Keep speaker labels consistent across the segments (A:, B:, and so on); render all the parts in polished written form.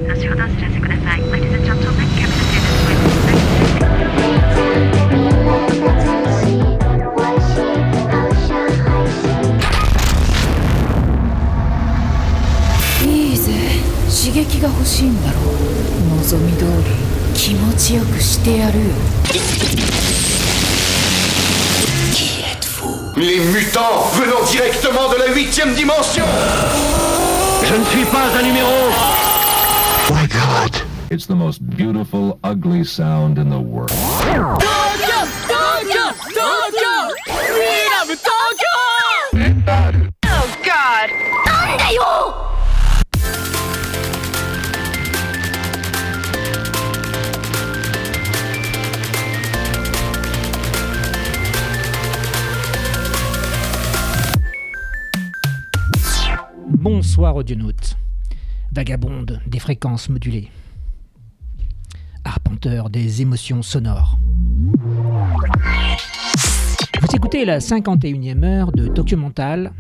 A: いいぜ、刺激が欲しいんだろう。望み通り気持ちよくしてやるよ。
B: Les mutants venant directement de la 8e dimension.
C: Je ne suis pas un numéro.
B: My God.
D: It's the most beautiful, ugly sound in the world.
A: Tokyo! Tokyo! Tokyo! We love Tokyo! Oh God! なんだよ!
E: Bonsoir audionautes, vagabonde des fréquences modulées, arpenteur des émotions sonores. Vous écoutez la 51e heure de Tokyo Mental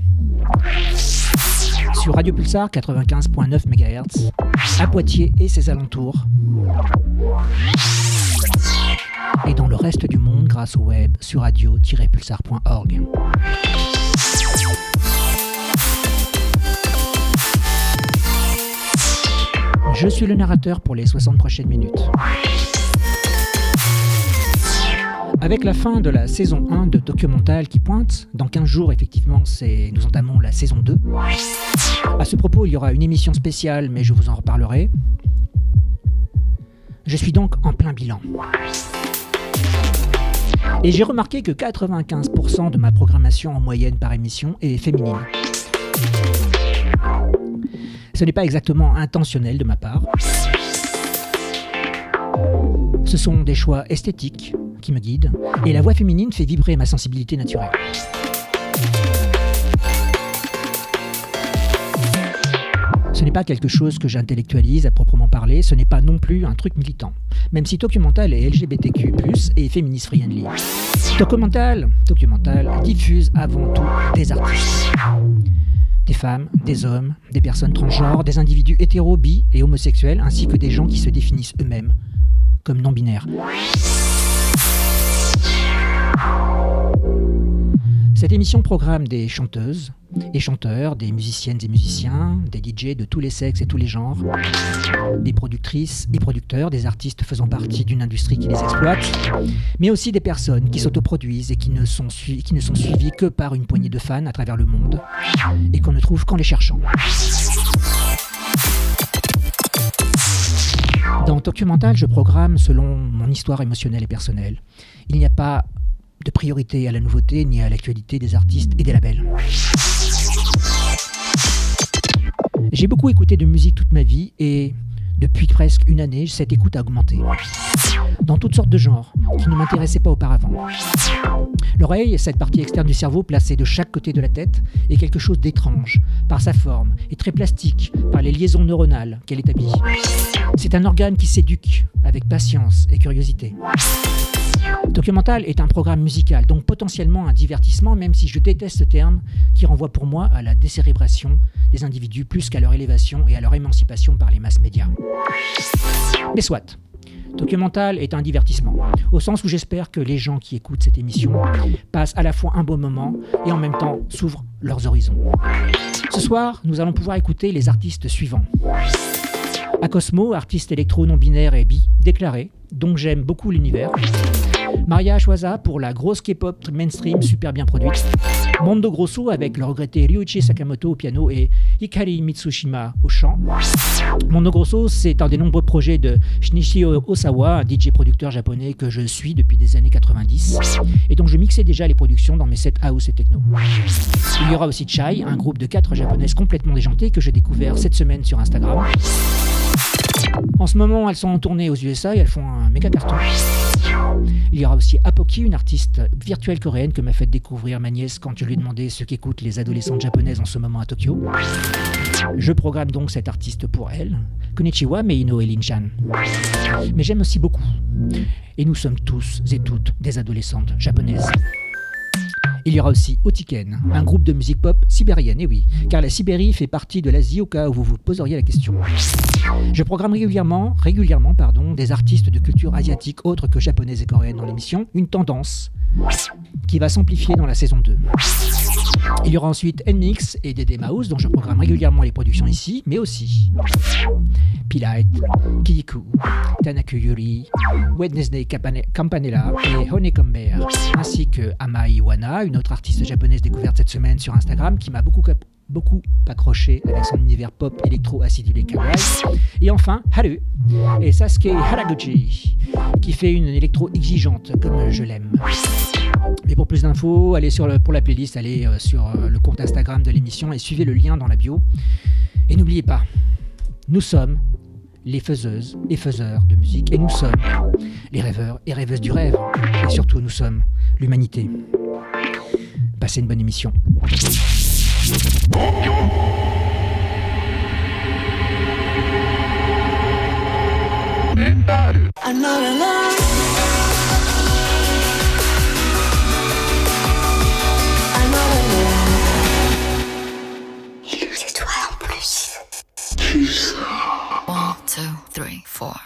E: sur Radio Pulsar 95.9 MHz à Poitiers et ses alentours, et dans le reste du monde grâce au web sur radio-pulsar.org. Je suis le narrateur pour les 60 prochaines minutes. Avec la fin de la saison 1 de Tokyo Mental qui pointe, dans 15 jours effectivement nous entamons la saison 2. À ce propos, il y aura une émission spéciale, mais je vous en reparlerai. Je suis donc en plein bilan. Et j'ai remarqué que 95% de ma programmation en moyenne par émission est féminine. Ce n'est pas exactement intentionnel de ma part. Ce sont des choix esthétiques qui me guident, et la voix féminine fait vibrer ma sensibilité naturelle. Ce n'est pas quelque chose que j'intellectualise à proprement parler, ce n'est pas non plus un truc militant, même si Tokyo Mental est LGBTQ+, et féministe friendly. Tokyo Mental diffuse avant tout des artistes. Des femmes, des hommes, des personnes transgenres, des individus hétéros, bi et homosexuels, ainsi que des gens qui se définissent eux-mêmes comme non-binaires. Cette émission programme des chanteuses et chanteurs, des musiciennes et musiciens, des DJ de tous les sexes et tous les genres, des productrices et producteurs, des artistes faisant partie d'une industrie qui les exploite, mais aussi des personnes qui s'autoproduisent et qui ne sont suivies que par une poignée de fans à travers le monde et qu'on ne trouve qu'en les cherchant. Dans Tokyo Mental, je programme selon mon histoire émotionnelle et personnelle. Il n'y a pas de priorité à la nouveauté ni à l'actualité des artistes et des labels. J'ai beaucoup écouté de musique toute ma vie et depuis presque une année, cette écoute a augmenté. Dans toutes sortes de genres qui ne m'intéressaient pas auparavant. L'oreille, cette partie externe du cerveau placée de chaque côté de la tête, est quelque chose d'étrange par sa forme et très plastique par les liaisons neuronales qu'elle établit. C'est un organe qui s'éduque avec patience et curiosité. Tokyo Mental est un programme musical, donc potentiellement un divertissement, même si je déteste ce terme qui renvoie pour moi à la décérébration des individus plus qu'à leur élévation et à leur émancipation par les masses médias. Mais soit, Tokyo Mental est un divertissement, au sens où j'espère que les gens qui écoutent cette émission passent à la fois un bon moment et en même temps s'ouvrent leurs horizons. Ce soir, nous allons pouvoir écouter les artistes suivants. Akosmo, artiste électro non-binaire et bi, déclaré, donc j'aime beaucoup l'univers. Maria Ashwaza pour la grosse K-pop mainstream super bien produite. Mondo Grosso avec le regretté Ryuichi Sakamoto au piano et Hikari Mitsushima au chant. Mondo Grosso, c'est un des nombreux projets de Shinichi Osawa, un DJ producteur japonais que je suis depuis des années 90 et dont je mixais déjà les productions dans mes sets house et techno. Il y aura aussi Chai, un groupe de 4 japonaises complètement déjantées que j'ai découvert cette semaine sur Instagram. En ce moment, elles sont en tournée aux USA et elles font un méga carton. Il y aura aussi Apoki, une artiste virtuelle coréenne que m'a fait découvrir ma nièce quand je lui ai demandé ce qu'écoutent les adolescentes japonaises en ce moment à Tokyo. Je programme donc cette artiste pour elle. Konnichiwa Meino et Lin-chan. Mais j'aime aussi beaucoup. Et nous sommes tous et toutes des adolescentes japonaises. Il y aura aussi Otiken, un groupe de musique pop sibérienne, et oui, car la Sibérie fait partie de l'Asie au cas où vous vous poseriez la question. Je programme régulièrement, des artistes de culture asiatique autres que japonaise et coréenne dans l'émission, une tendance qui va s'amplifier dans la saison 2. Il y aura ensuite NMix et Dede Mouse, dont je programme régulièrement les productions ici, mais aussi P-Light, Kiyiku, Tanaku Yuri, Wednesday Campanella et Honeycomb Bear, ainsi que Amai Iwana, une autre artiste japonaise découverte cette semaine sur Instagram qui m'a beaucoup accroché avec son univers pop électro acidulé kawaii. Et enfin Haru et Sasuke Haraguchi qui fait une électro exigeante comme je l'aime. Mais pour plus d'infos, pour la playlist, allez sur le compte Instagram de l'émission et suivez le lien dans la bio. Et n'oubliez pas, nous sommes les faiseuses et faiseurs de musique et nous sommes les rêveurs et rêveuses du rêve. Et surtout, nous sommes l'humanité. Passez une bonne émission.
F: Another love. C'est toi en plus.
G: 1, 2, 3, 4.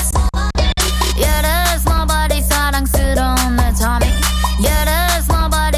F: Yeah, there's nobody 사랑스러운 내 tummy. Yeah, there's nobody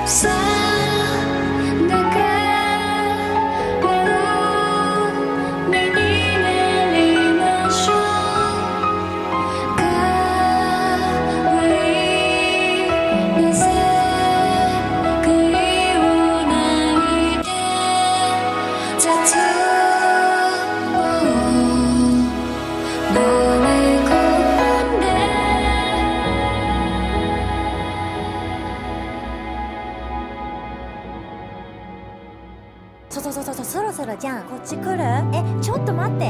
H: そろそろじゃんこっち来る？ちょっと待って。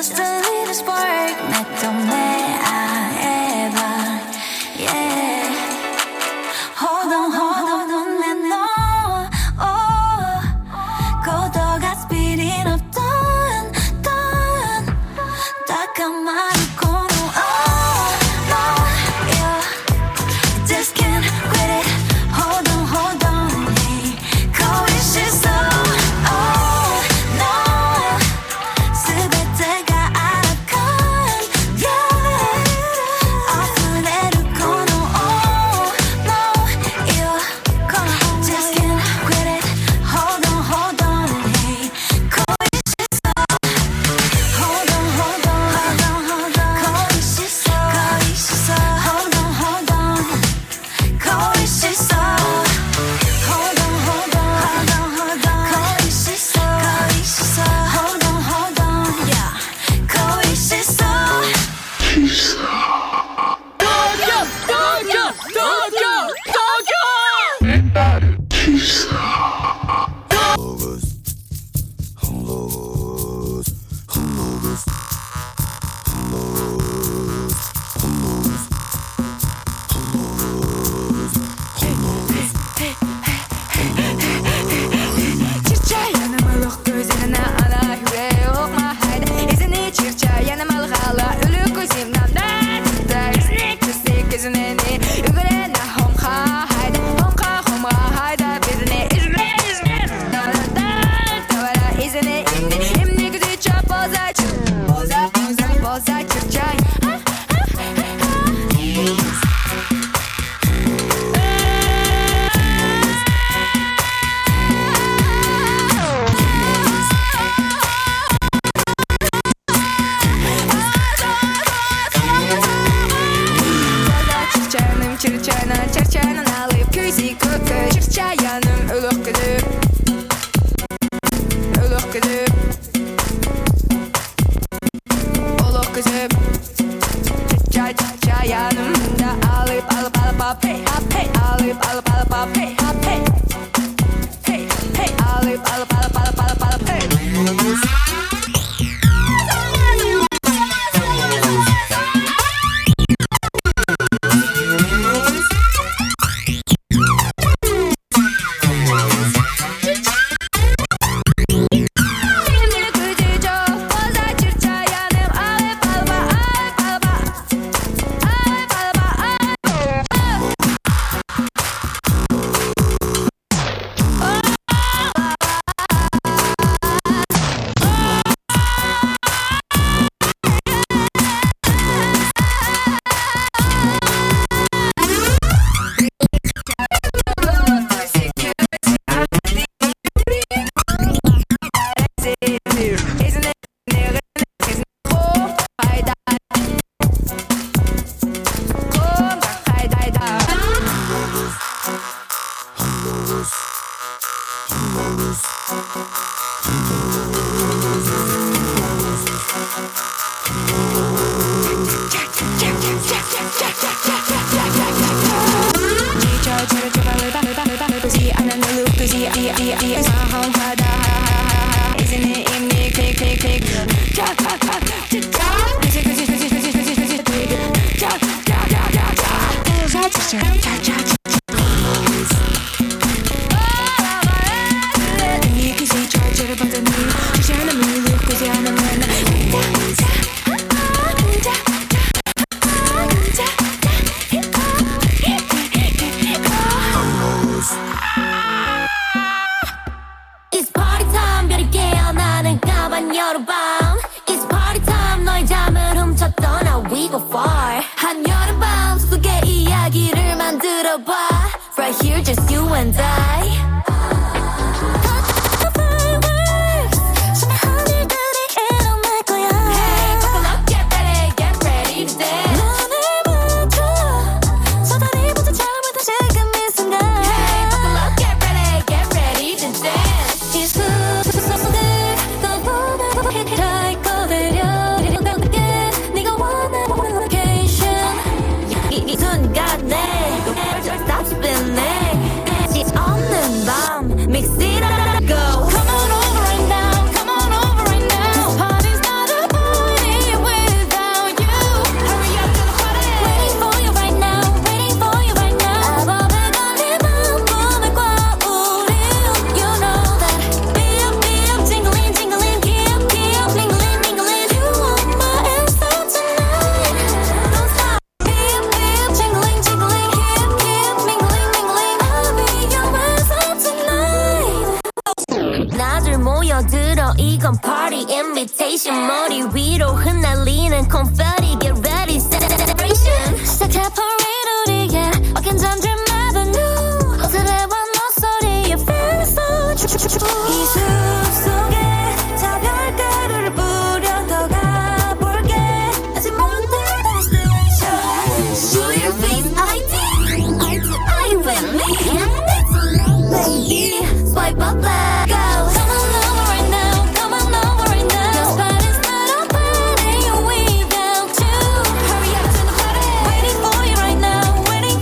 F: Just a little spark 맺던 yeah. Hold on, 내 너. 고도가 speeding up, done. 딱한 말을 고노. No, yeah. Just can't quit it. Hold on, hey. 거의 실수. No.全てが아라칸, yeah. 아무래도 고노. No, yeah. Come on, just can't quit it. Hold on, hey. 거의 실수. Hold on, 거의 실수. Hold on, 거의 실수. Hold on, 거의 실수. Hold on, yeah. 거의 실수. Çırçayla alıp küzik kökü Çırçayanım ölük gülüp Ölük gülüp Oluk kızıp Çırçayanım da alıp hop hey hop hey Alıp hop hey hop hey Hey hey alıp hop hey Right here, just you and I. 이 순간에 stop spinning. 없는
H: celebration 머리 위로 흩날리는 confetti get ready celebration 시작해 parade 우리의 Walking down Dream Avenue 호텔에 와 목소리에 feel so true 이 숲속에 차별가루를 뿌려 더 가볼게 아직 못해 destination Show your face I with me Baby swipe up let go Come on over right now Come on over right now Your spot is not a party You weave down too Hurry up to the party Waiting for you right now Waiting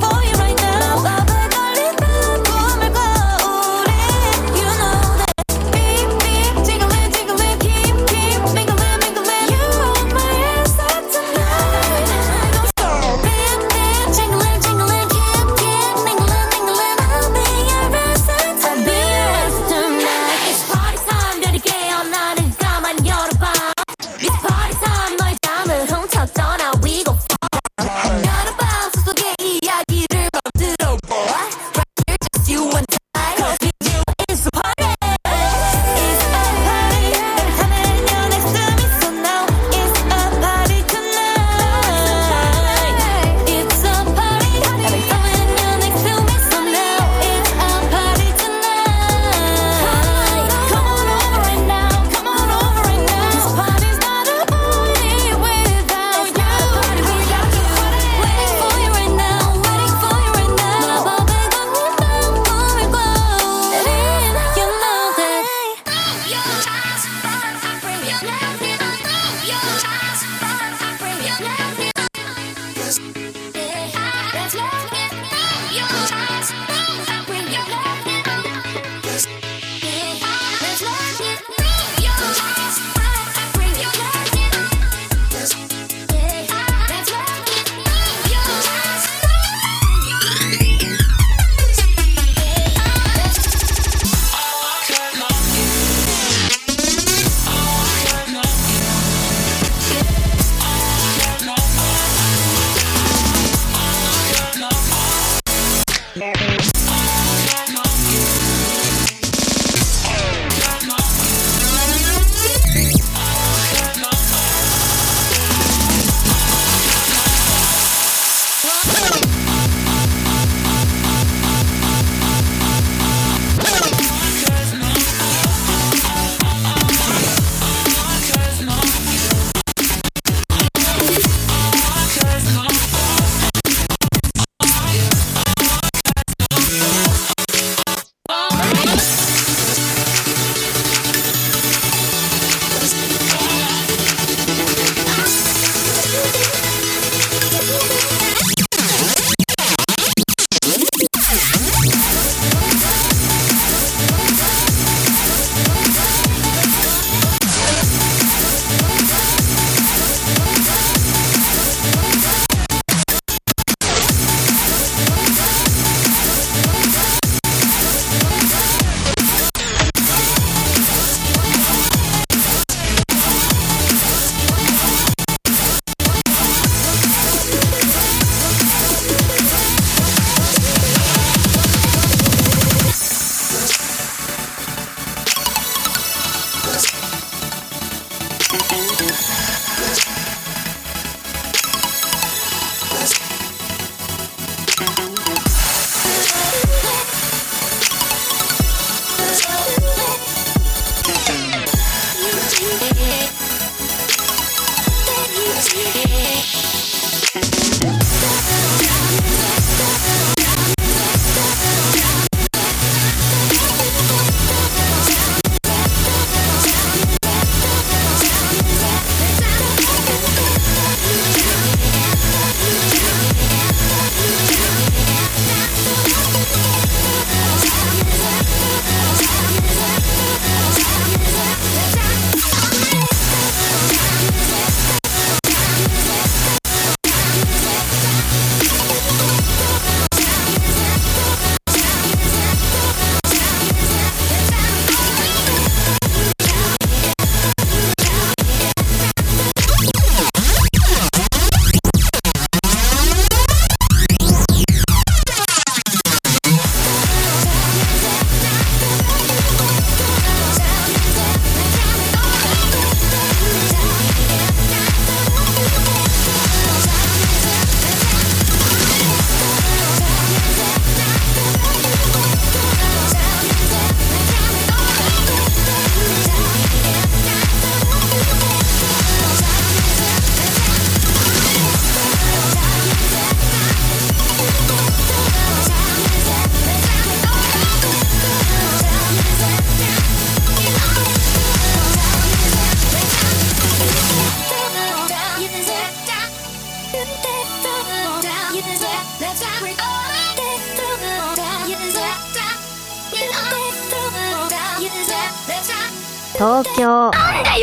H: Let's rock. We all get through the down. You deserve that. You all get through the down. You deserve. Let's rock.
I: 東京
H: なんだよ。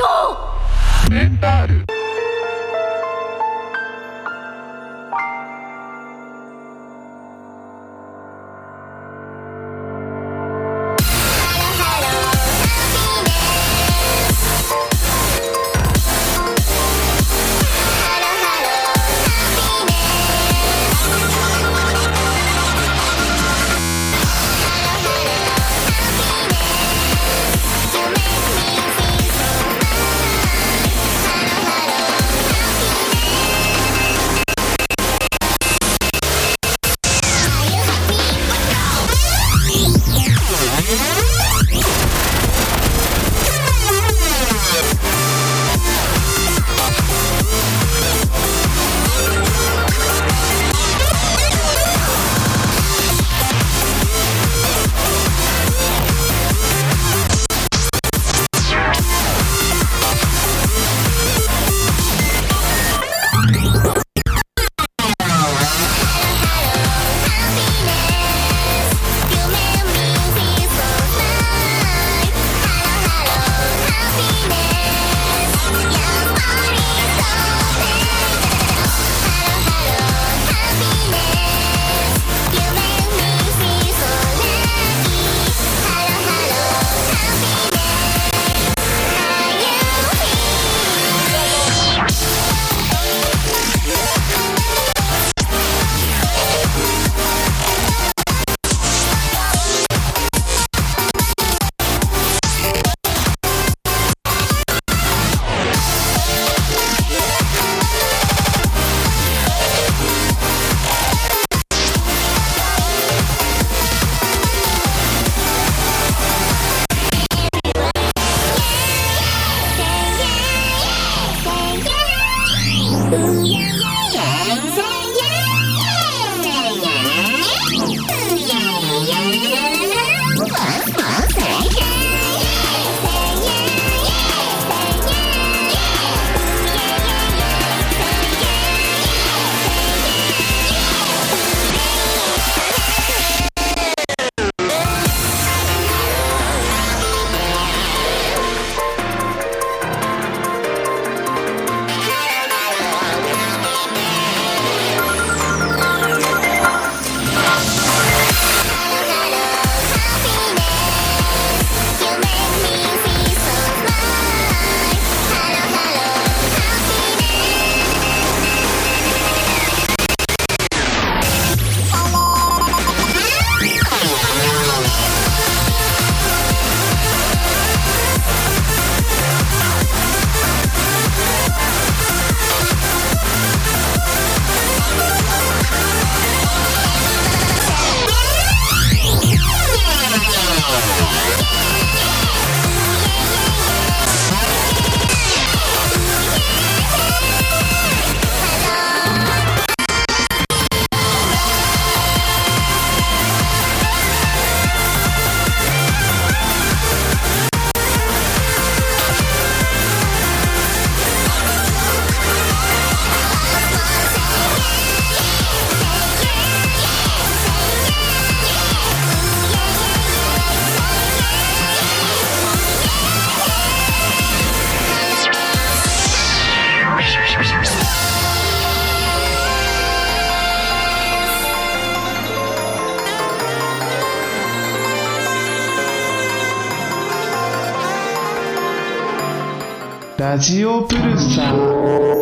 J: ラジオプルサー。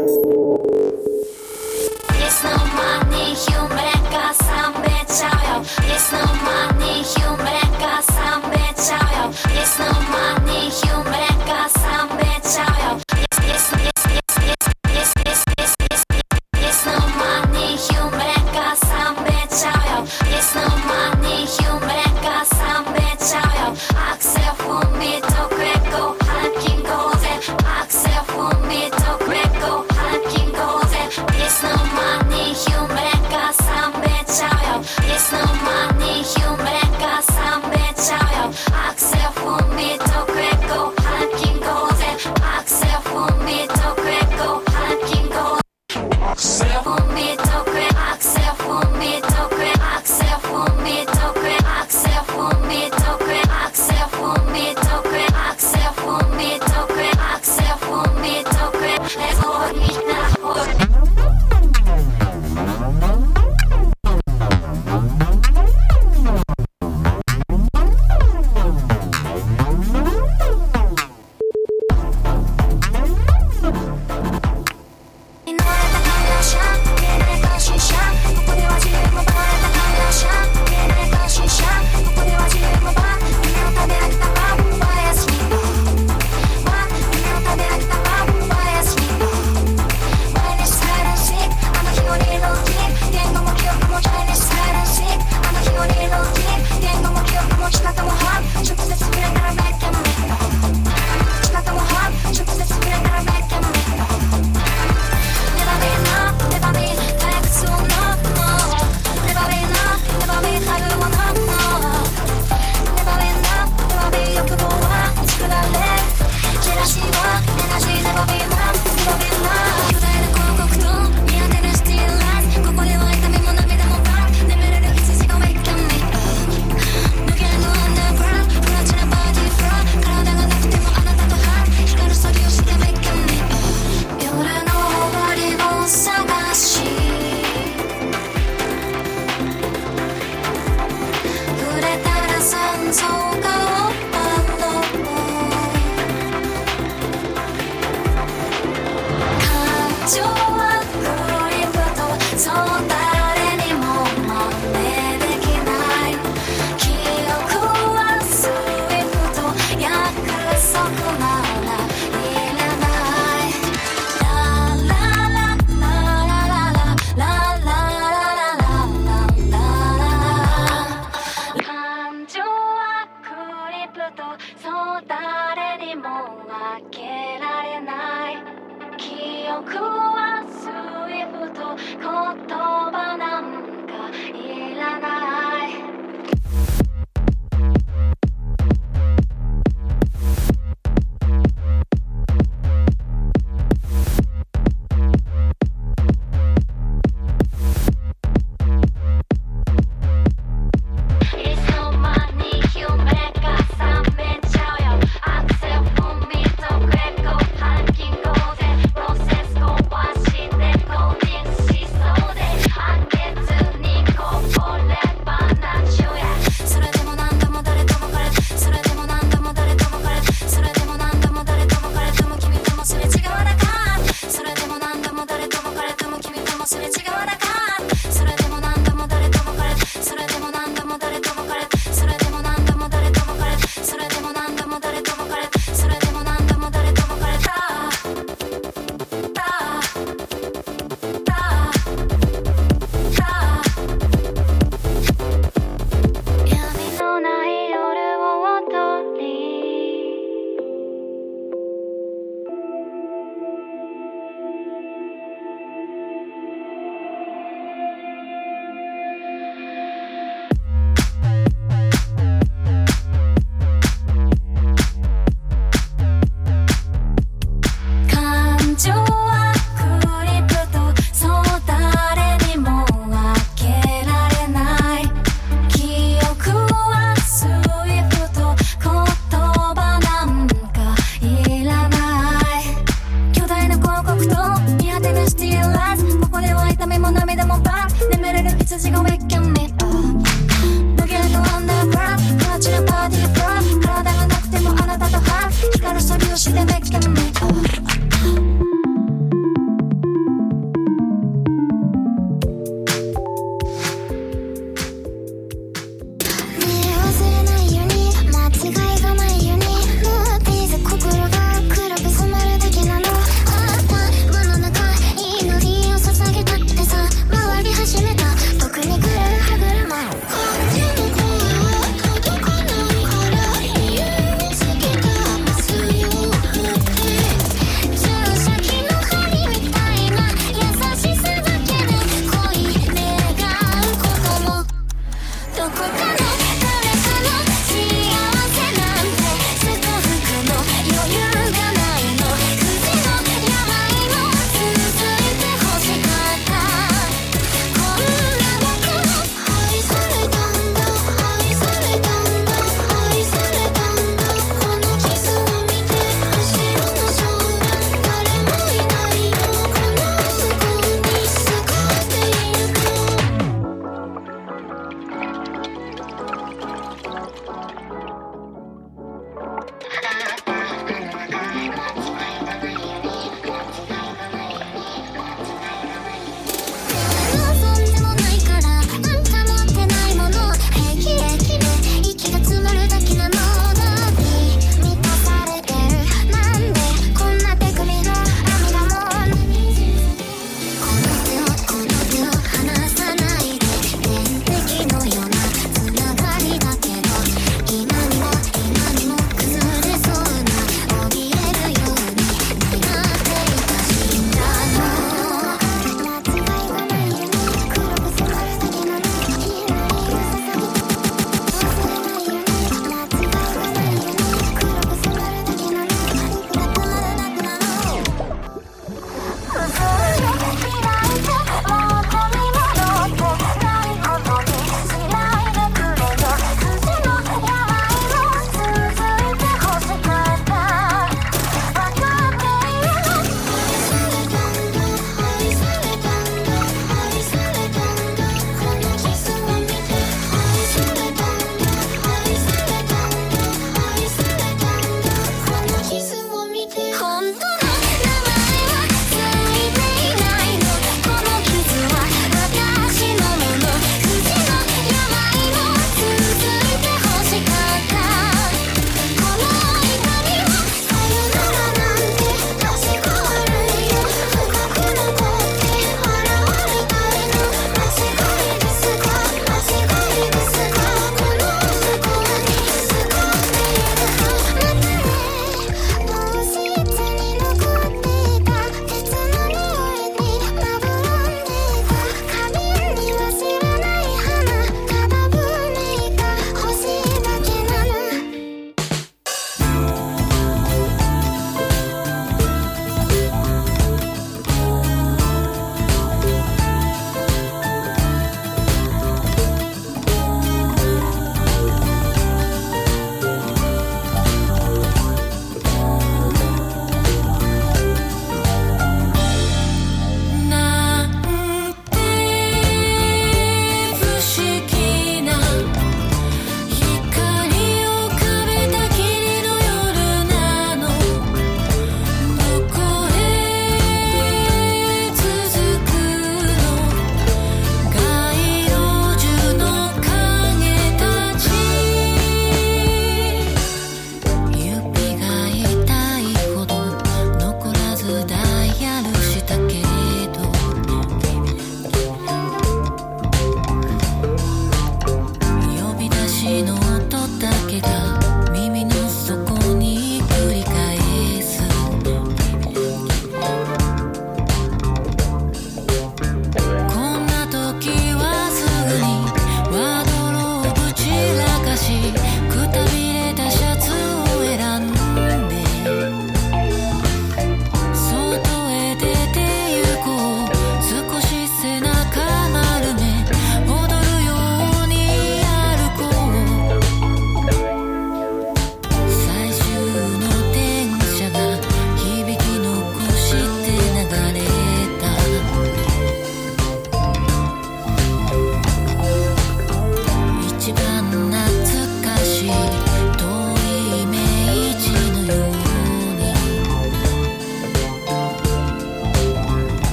H: Axel von mir, doch Quick go, Hacking go, Axel von mir, doch Quick go. 僕はスイフト言葉なんかいらないいつの間に夢が覚めちゃうよアクセル踏みとクレコハッキングでプロセス壊してコーディングしそうで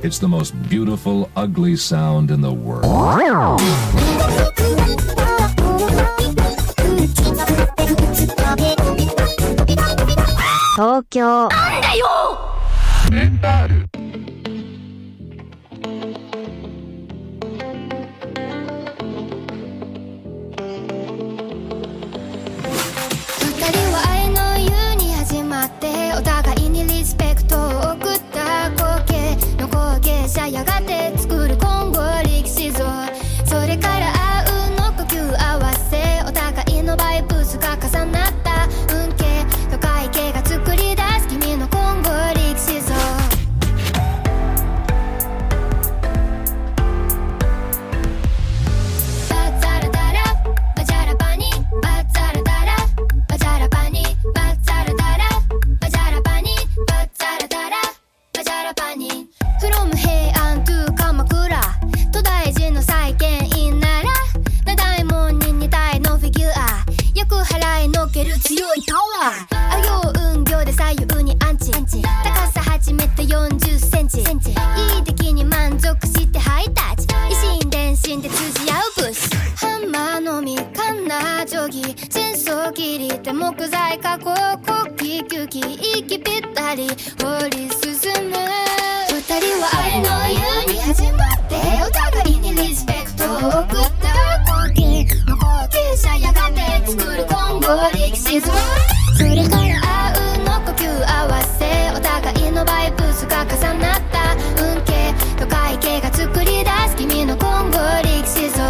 D: It's the most beautiful, ugly sound in the world.
H: 東京
F: なんだよ。
H: 二人は愛の湯に始まってお互いにリスペクトを送った光景の後継者やがて作る今後力士像それからあうの呼吸合わせお互いのバイブスが重なった運慶と会計が作り出す君の今後力士像バザラダラバジャラバニバザラダラバジャラバニバザラダラバジャラバニバザラダラバジャラバニ From 平安 to 鎌倉東大寺の再建院なら七大門に2体のフィギュアよく払いのける強いパワーあ行運行で左右にアンチ高さ初めて40センチいい出来に満足してハイタッチ維新伝心で通じ合うブスハンマーのみかんな定規戦争切りで木材加工国旗球技息ぴったり掘り進む二人は愛の湯に始まってお互いにリスペクトを送った光景の後継者やがて作る今後力士像それからあうの呼吸合わせお互いのバイブスが重なった運慶と会計が作り出す君の今後力士像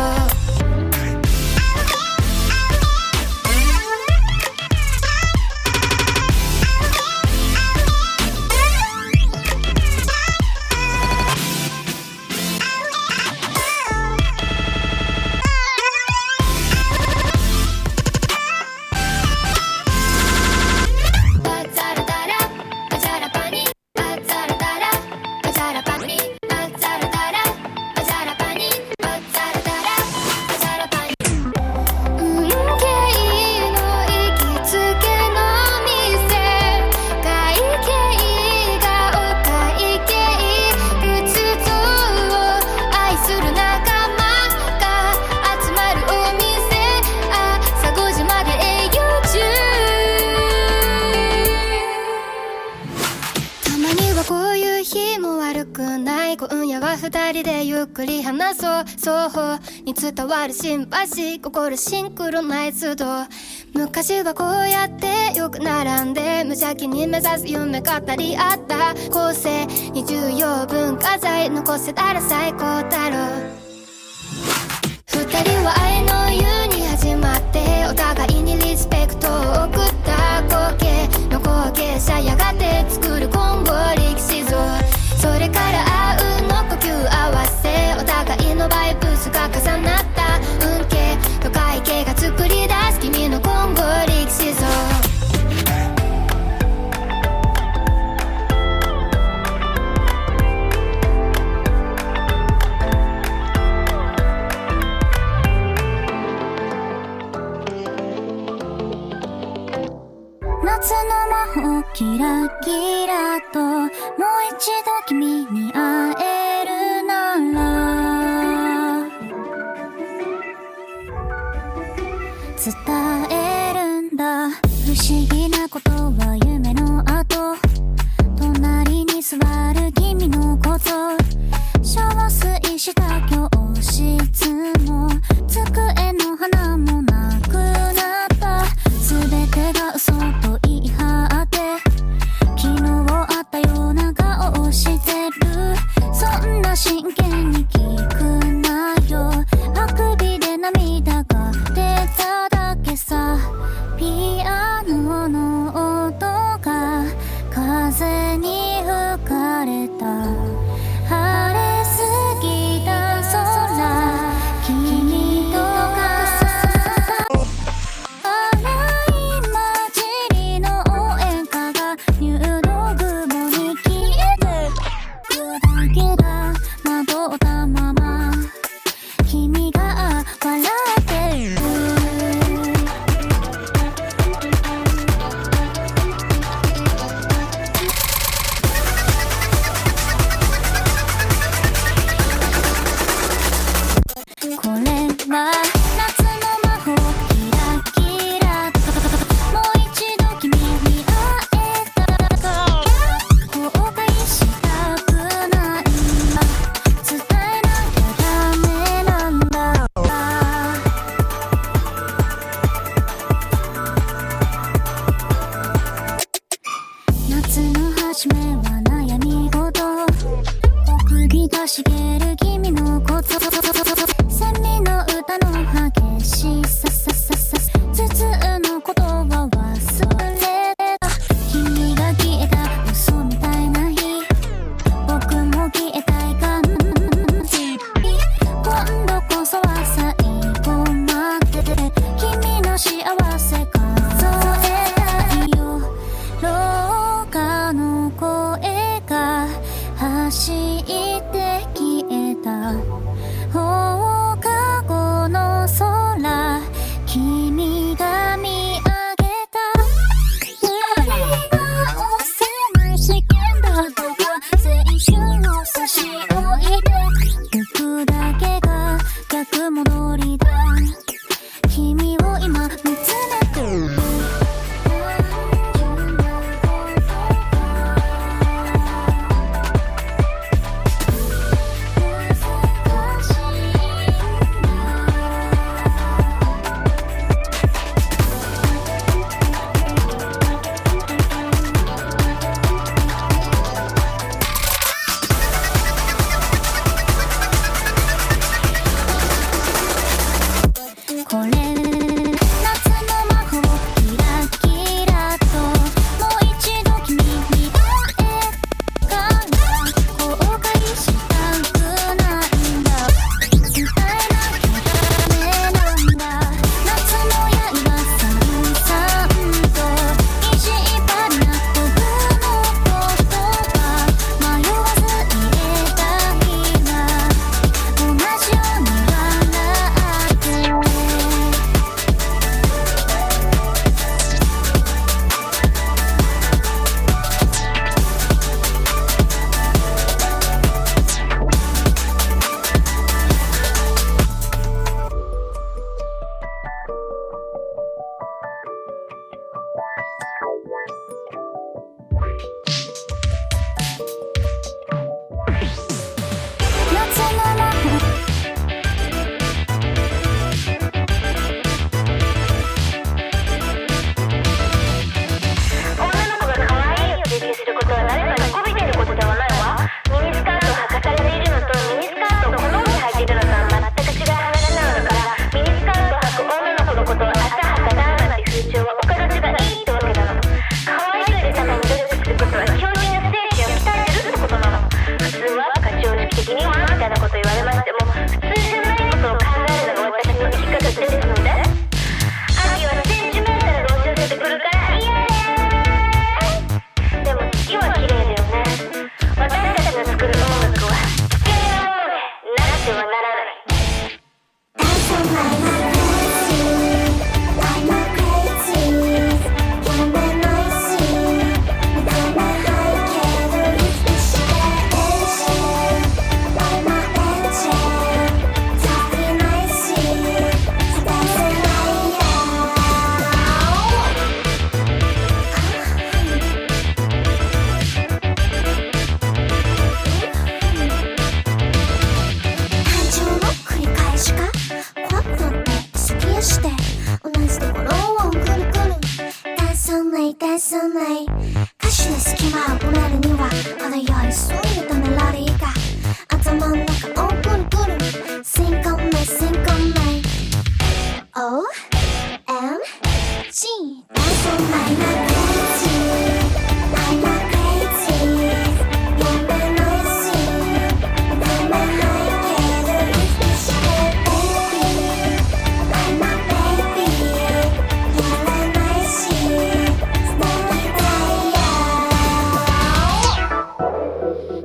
H: 二人でゆっくり話そう双方に伝わるシンパシー心シンクロナイズド昔はこうやってよく並んで無邪気に目指す夢語り合った後世に重要文化財残せたら最高だろう二人は愛の湯に始まってお互いにリスペクトを送った光景の後継者やがて作る今後力士像それからあうの呼吸合わせお互いのバイブスが重なった運慶と会計が作り出す君の今後力士像夏の魔法キラキラともう一度君に会えるなら伝えるんだ不思議なことは夢の後隣に座る君のこと憔悴した教室も机の花もなくなった全てが嘘と言い張って昨日あったような顔をしてるそんな真剣に聞くなよあくびで涙が出ただけさピアノの音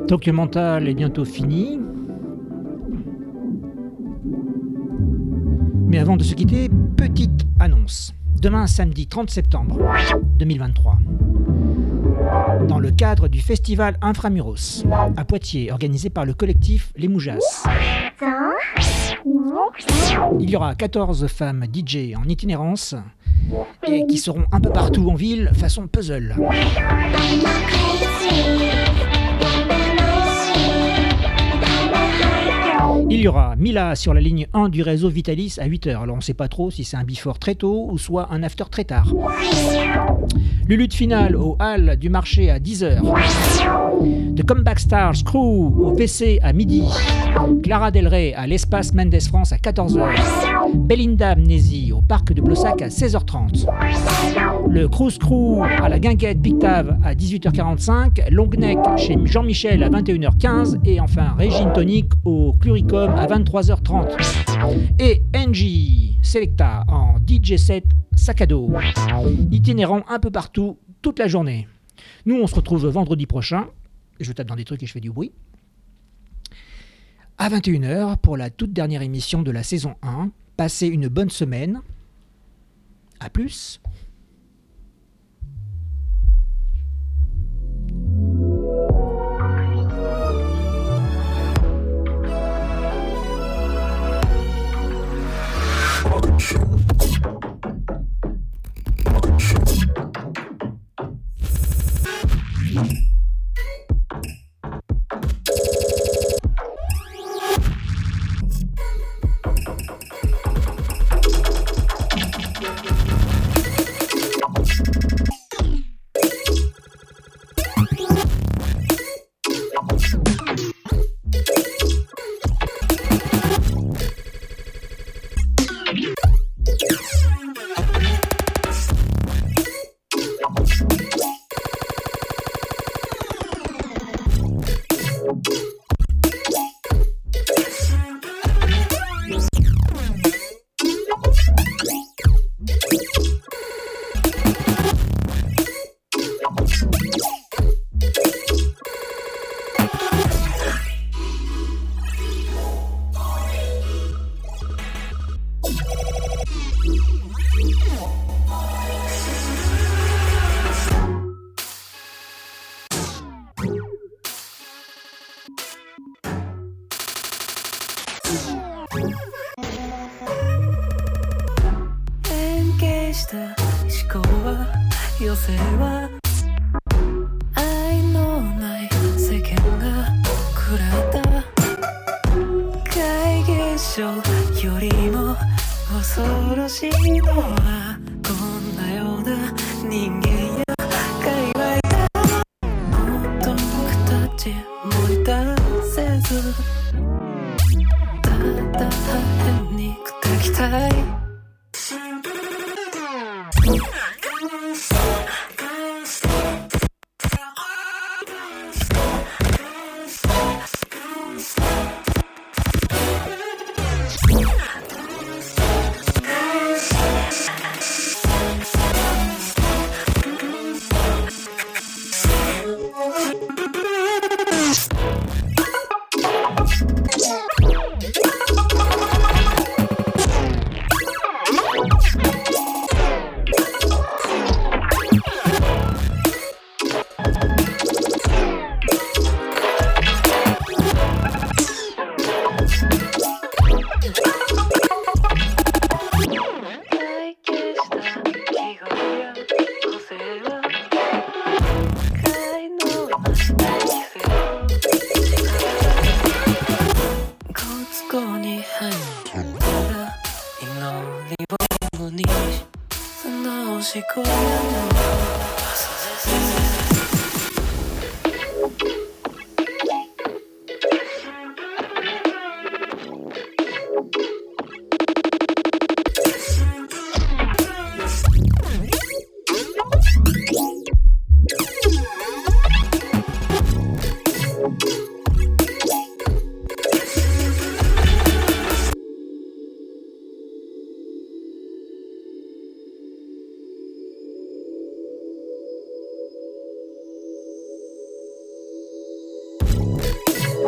E: Tokyo Mental est bientôt fini. Mais avant de se quitter, petite annonce. Demain, samedi 30 septembre 2023, dans le cadre du festival Inframuros à Poitiers, organisé par le collectif Les Moujas, il y aura 14 femmes DJ en itinérance et qui seront un peu partout en ville façon puzzle. Il y aura Mila sur la ligne 1 du réseau Vitalis à 8h. Alors on ne sait pas trop si c'est un before très tôt ou soit un after très tard. Le lutte finale au hall du marché à 10h. The Comeback Stars Crew au PC à midi. Clara Del Rey à l'Espace Mendes France à 14h. Belinda Amnésie au parc de Blossac à 16h30. Le Cruise Crew à la Guinguette Big Tav à 18h45. Long Neck chez Jean-Michel à 21h15. Et enfin Régine Tonic au Cluricom à 23h30. Et Angie Selecta en DJ set sac à dos, itinérant un peu partout toute la journée. Nous on se retrouve vendredi prochain, je tape dans des trucs et je fais du bruit, à 21h pour la toute dernière émission de la saison 1. Passez une bonne semaine, à plus.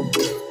H: Thank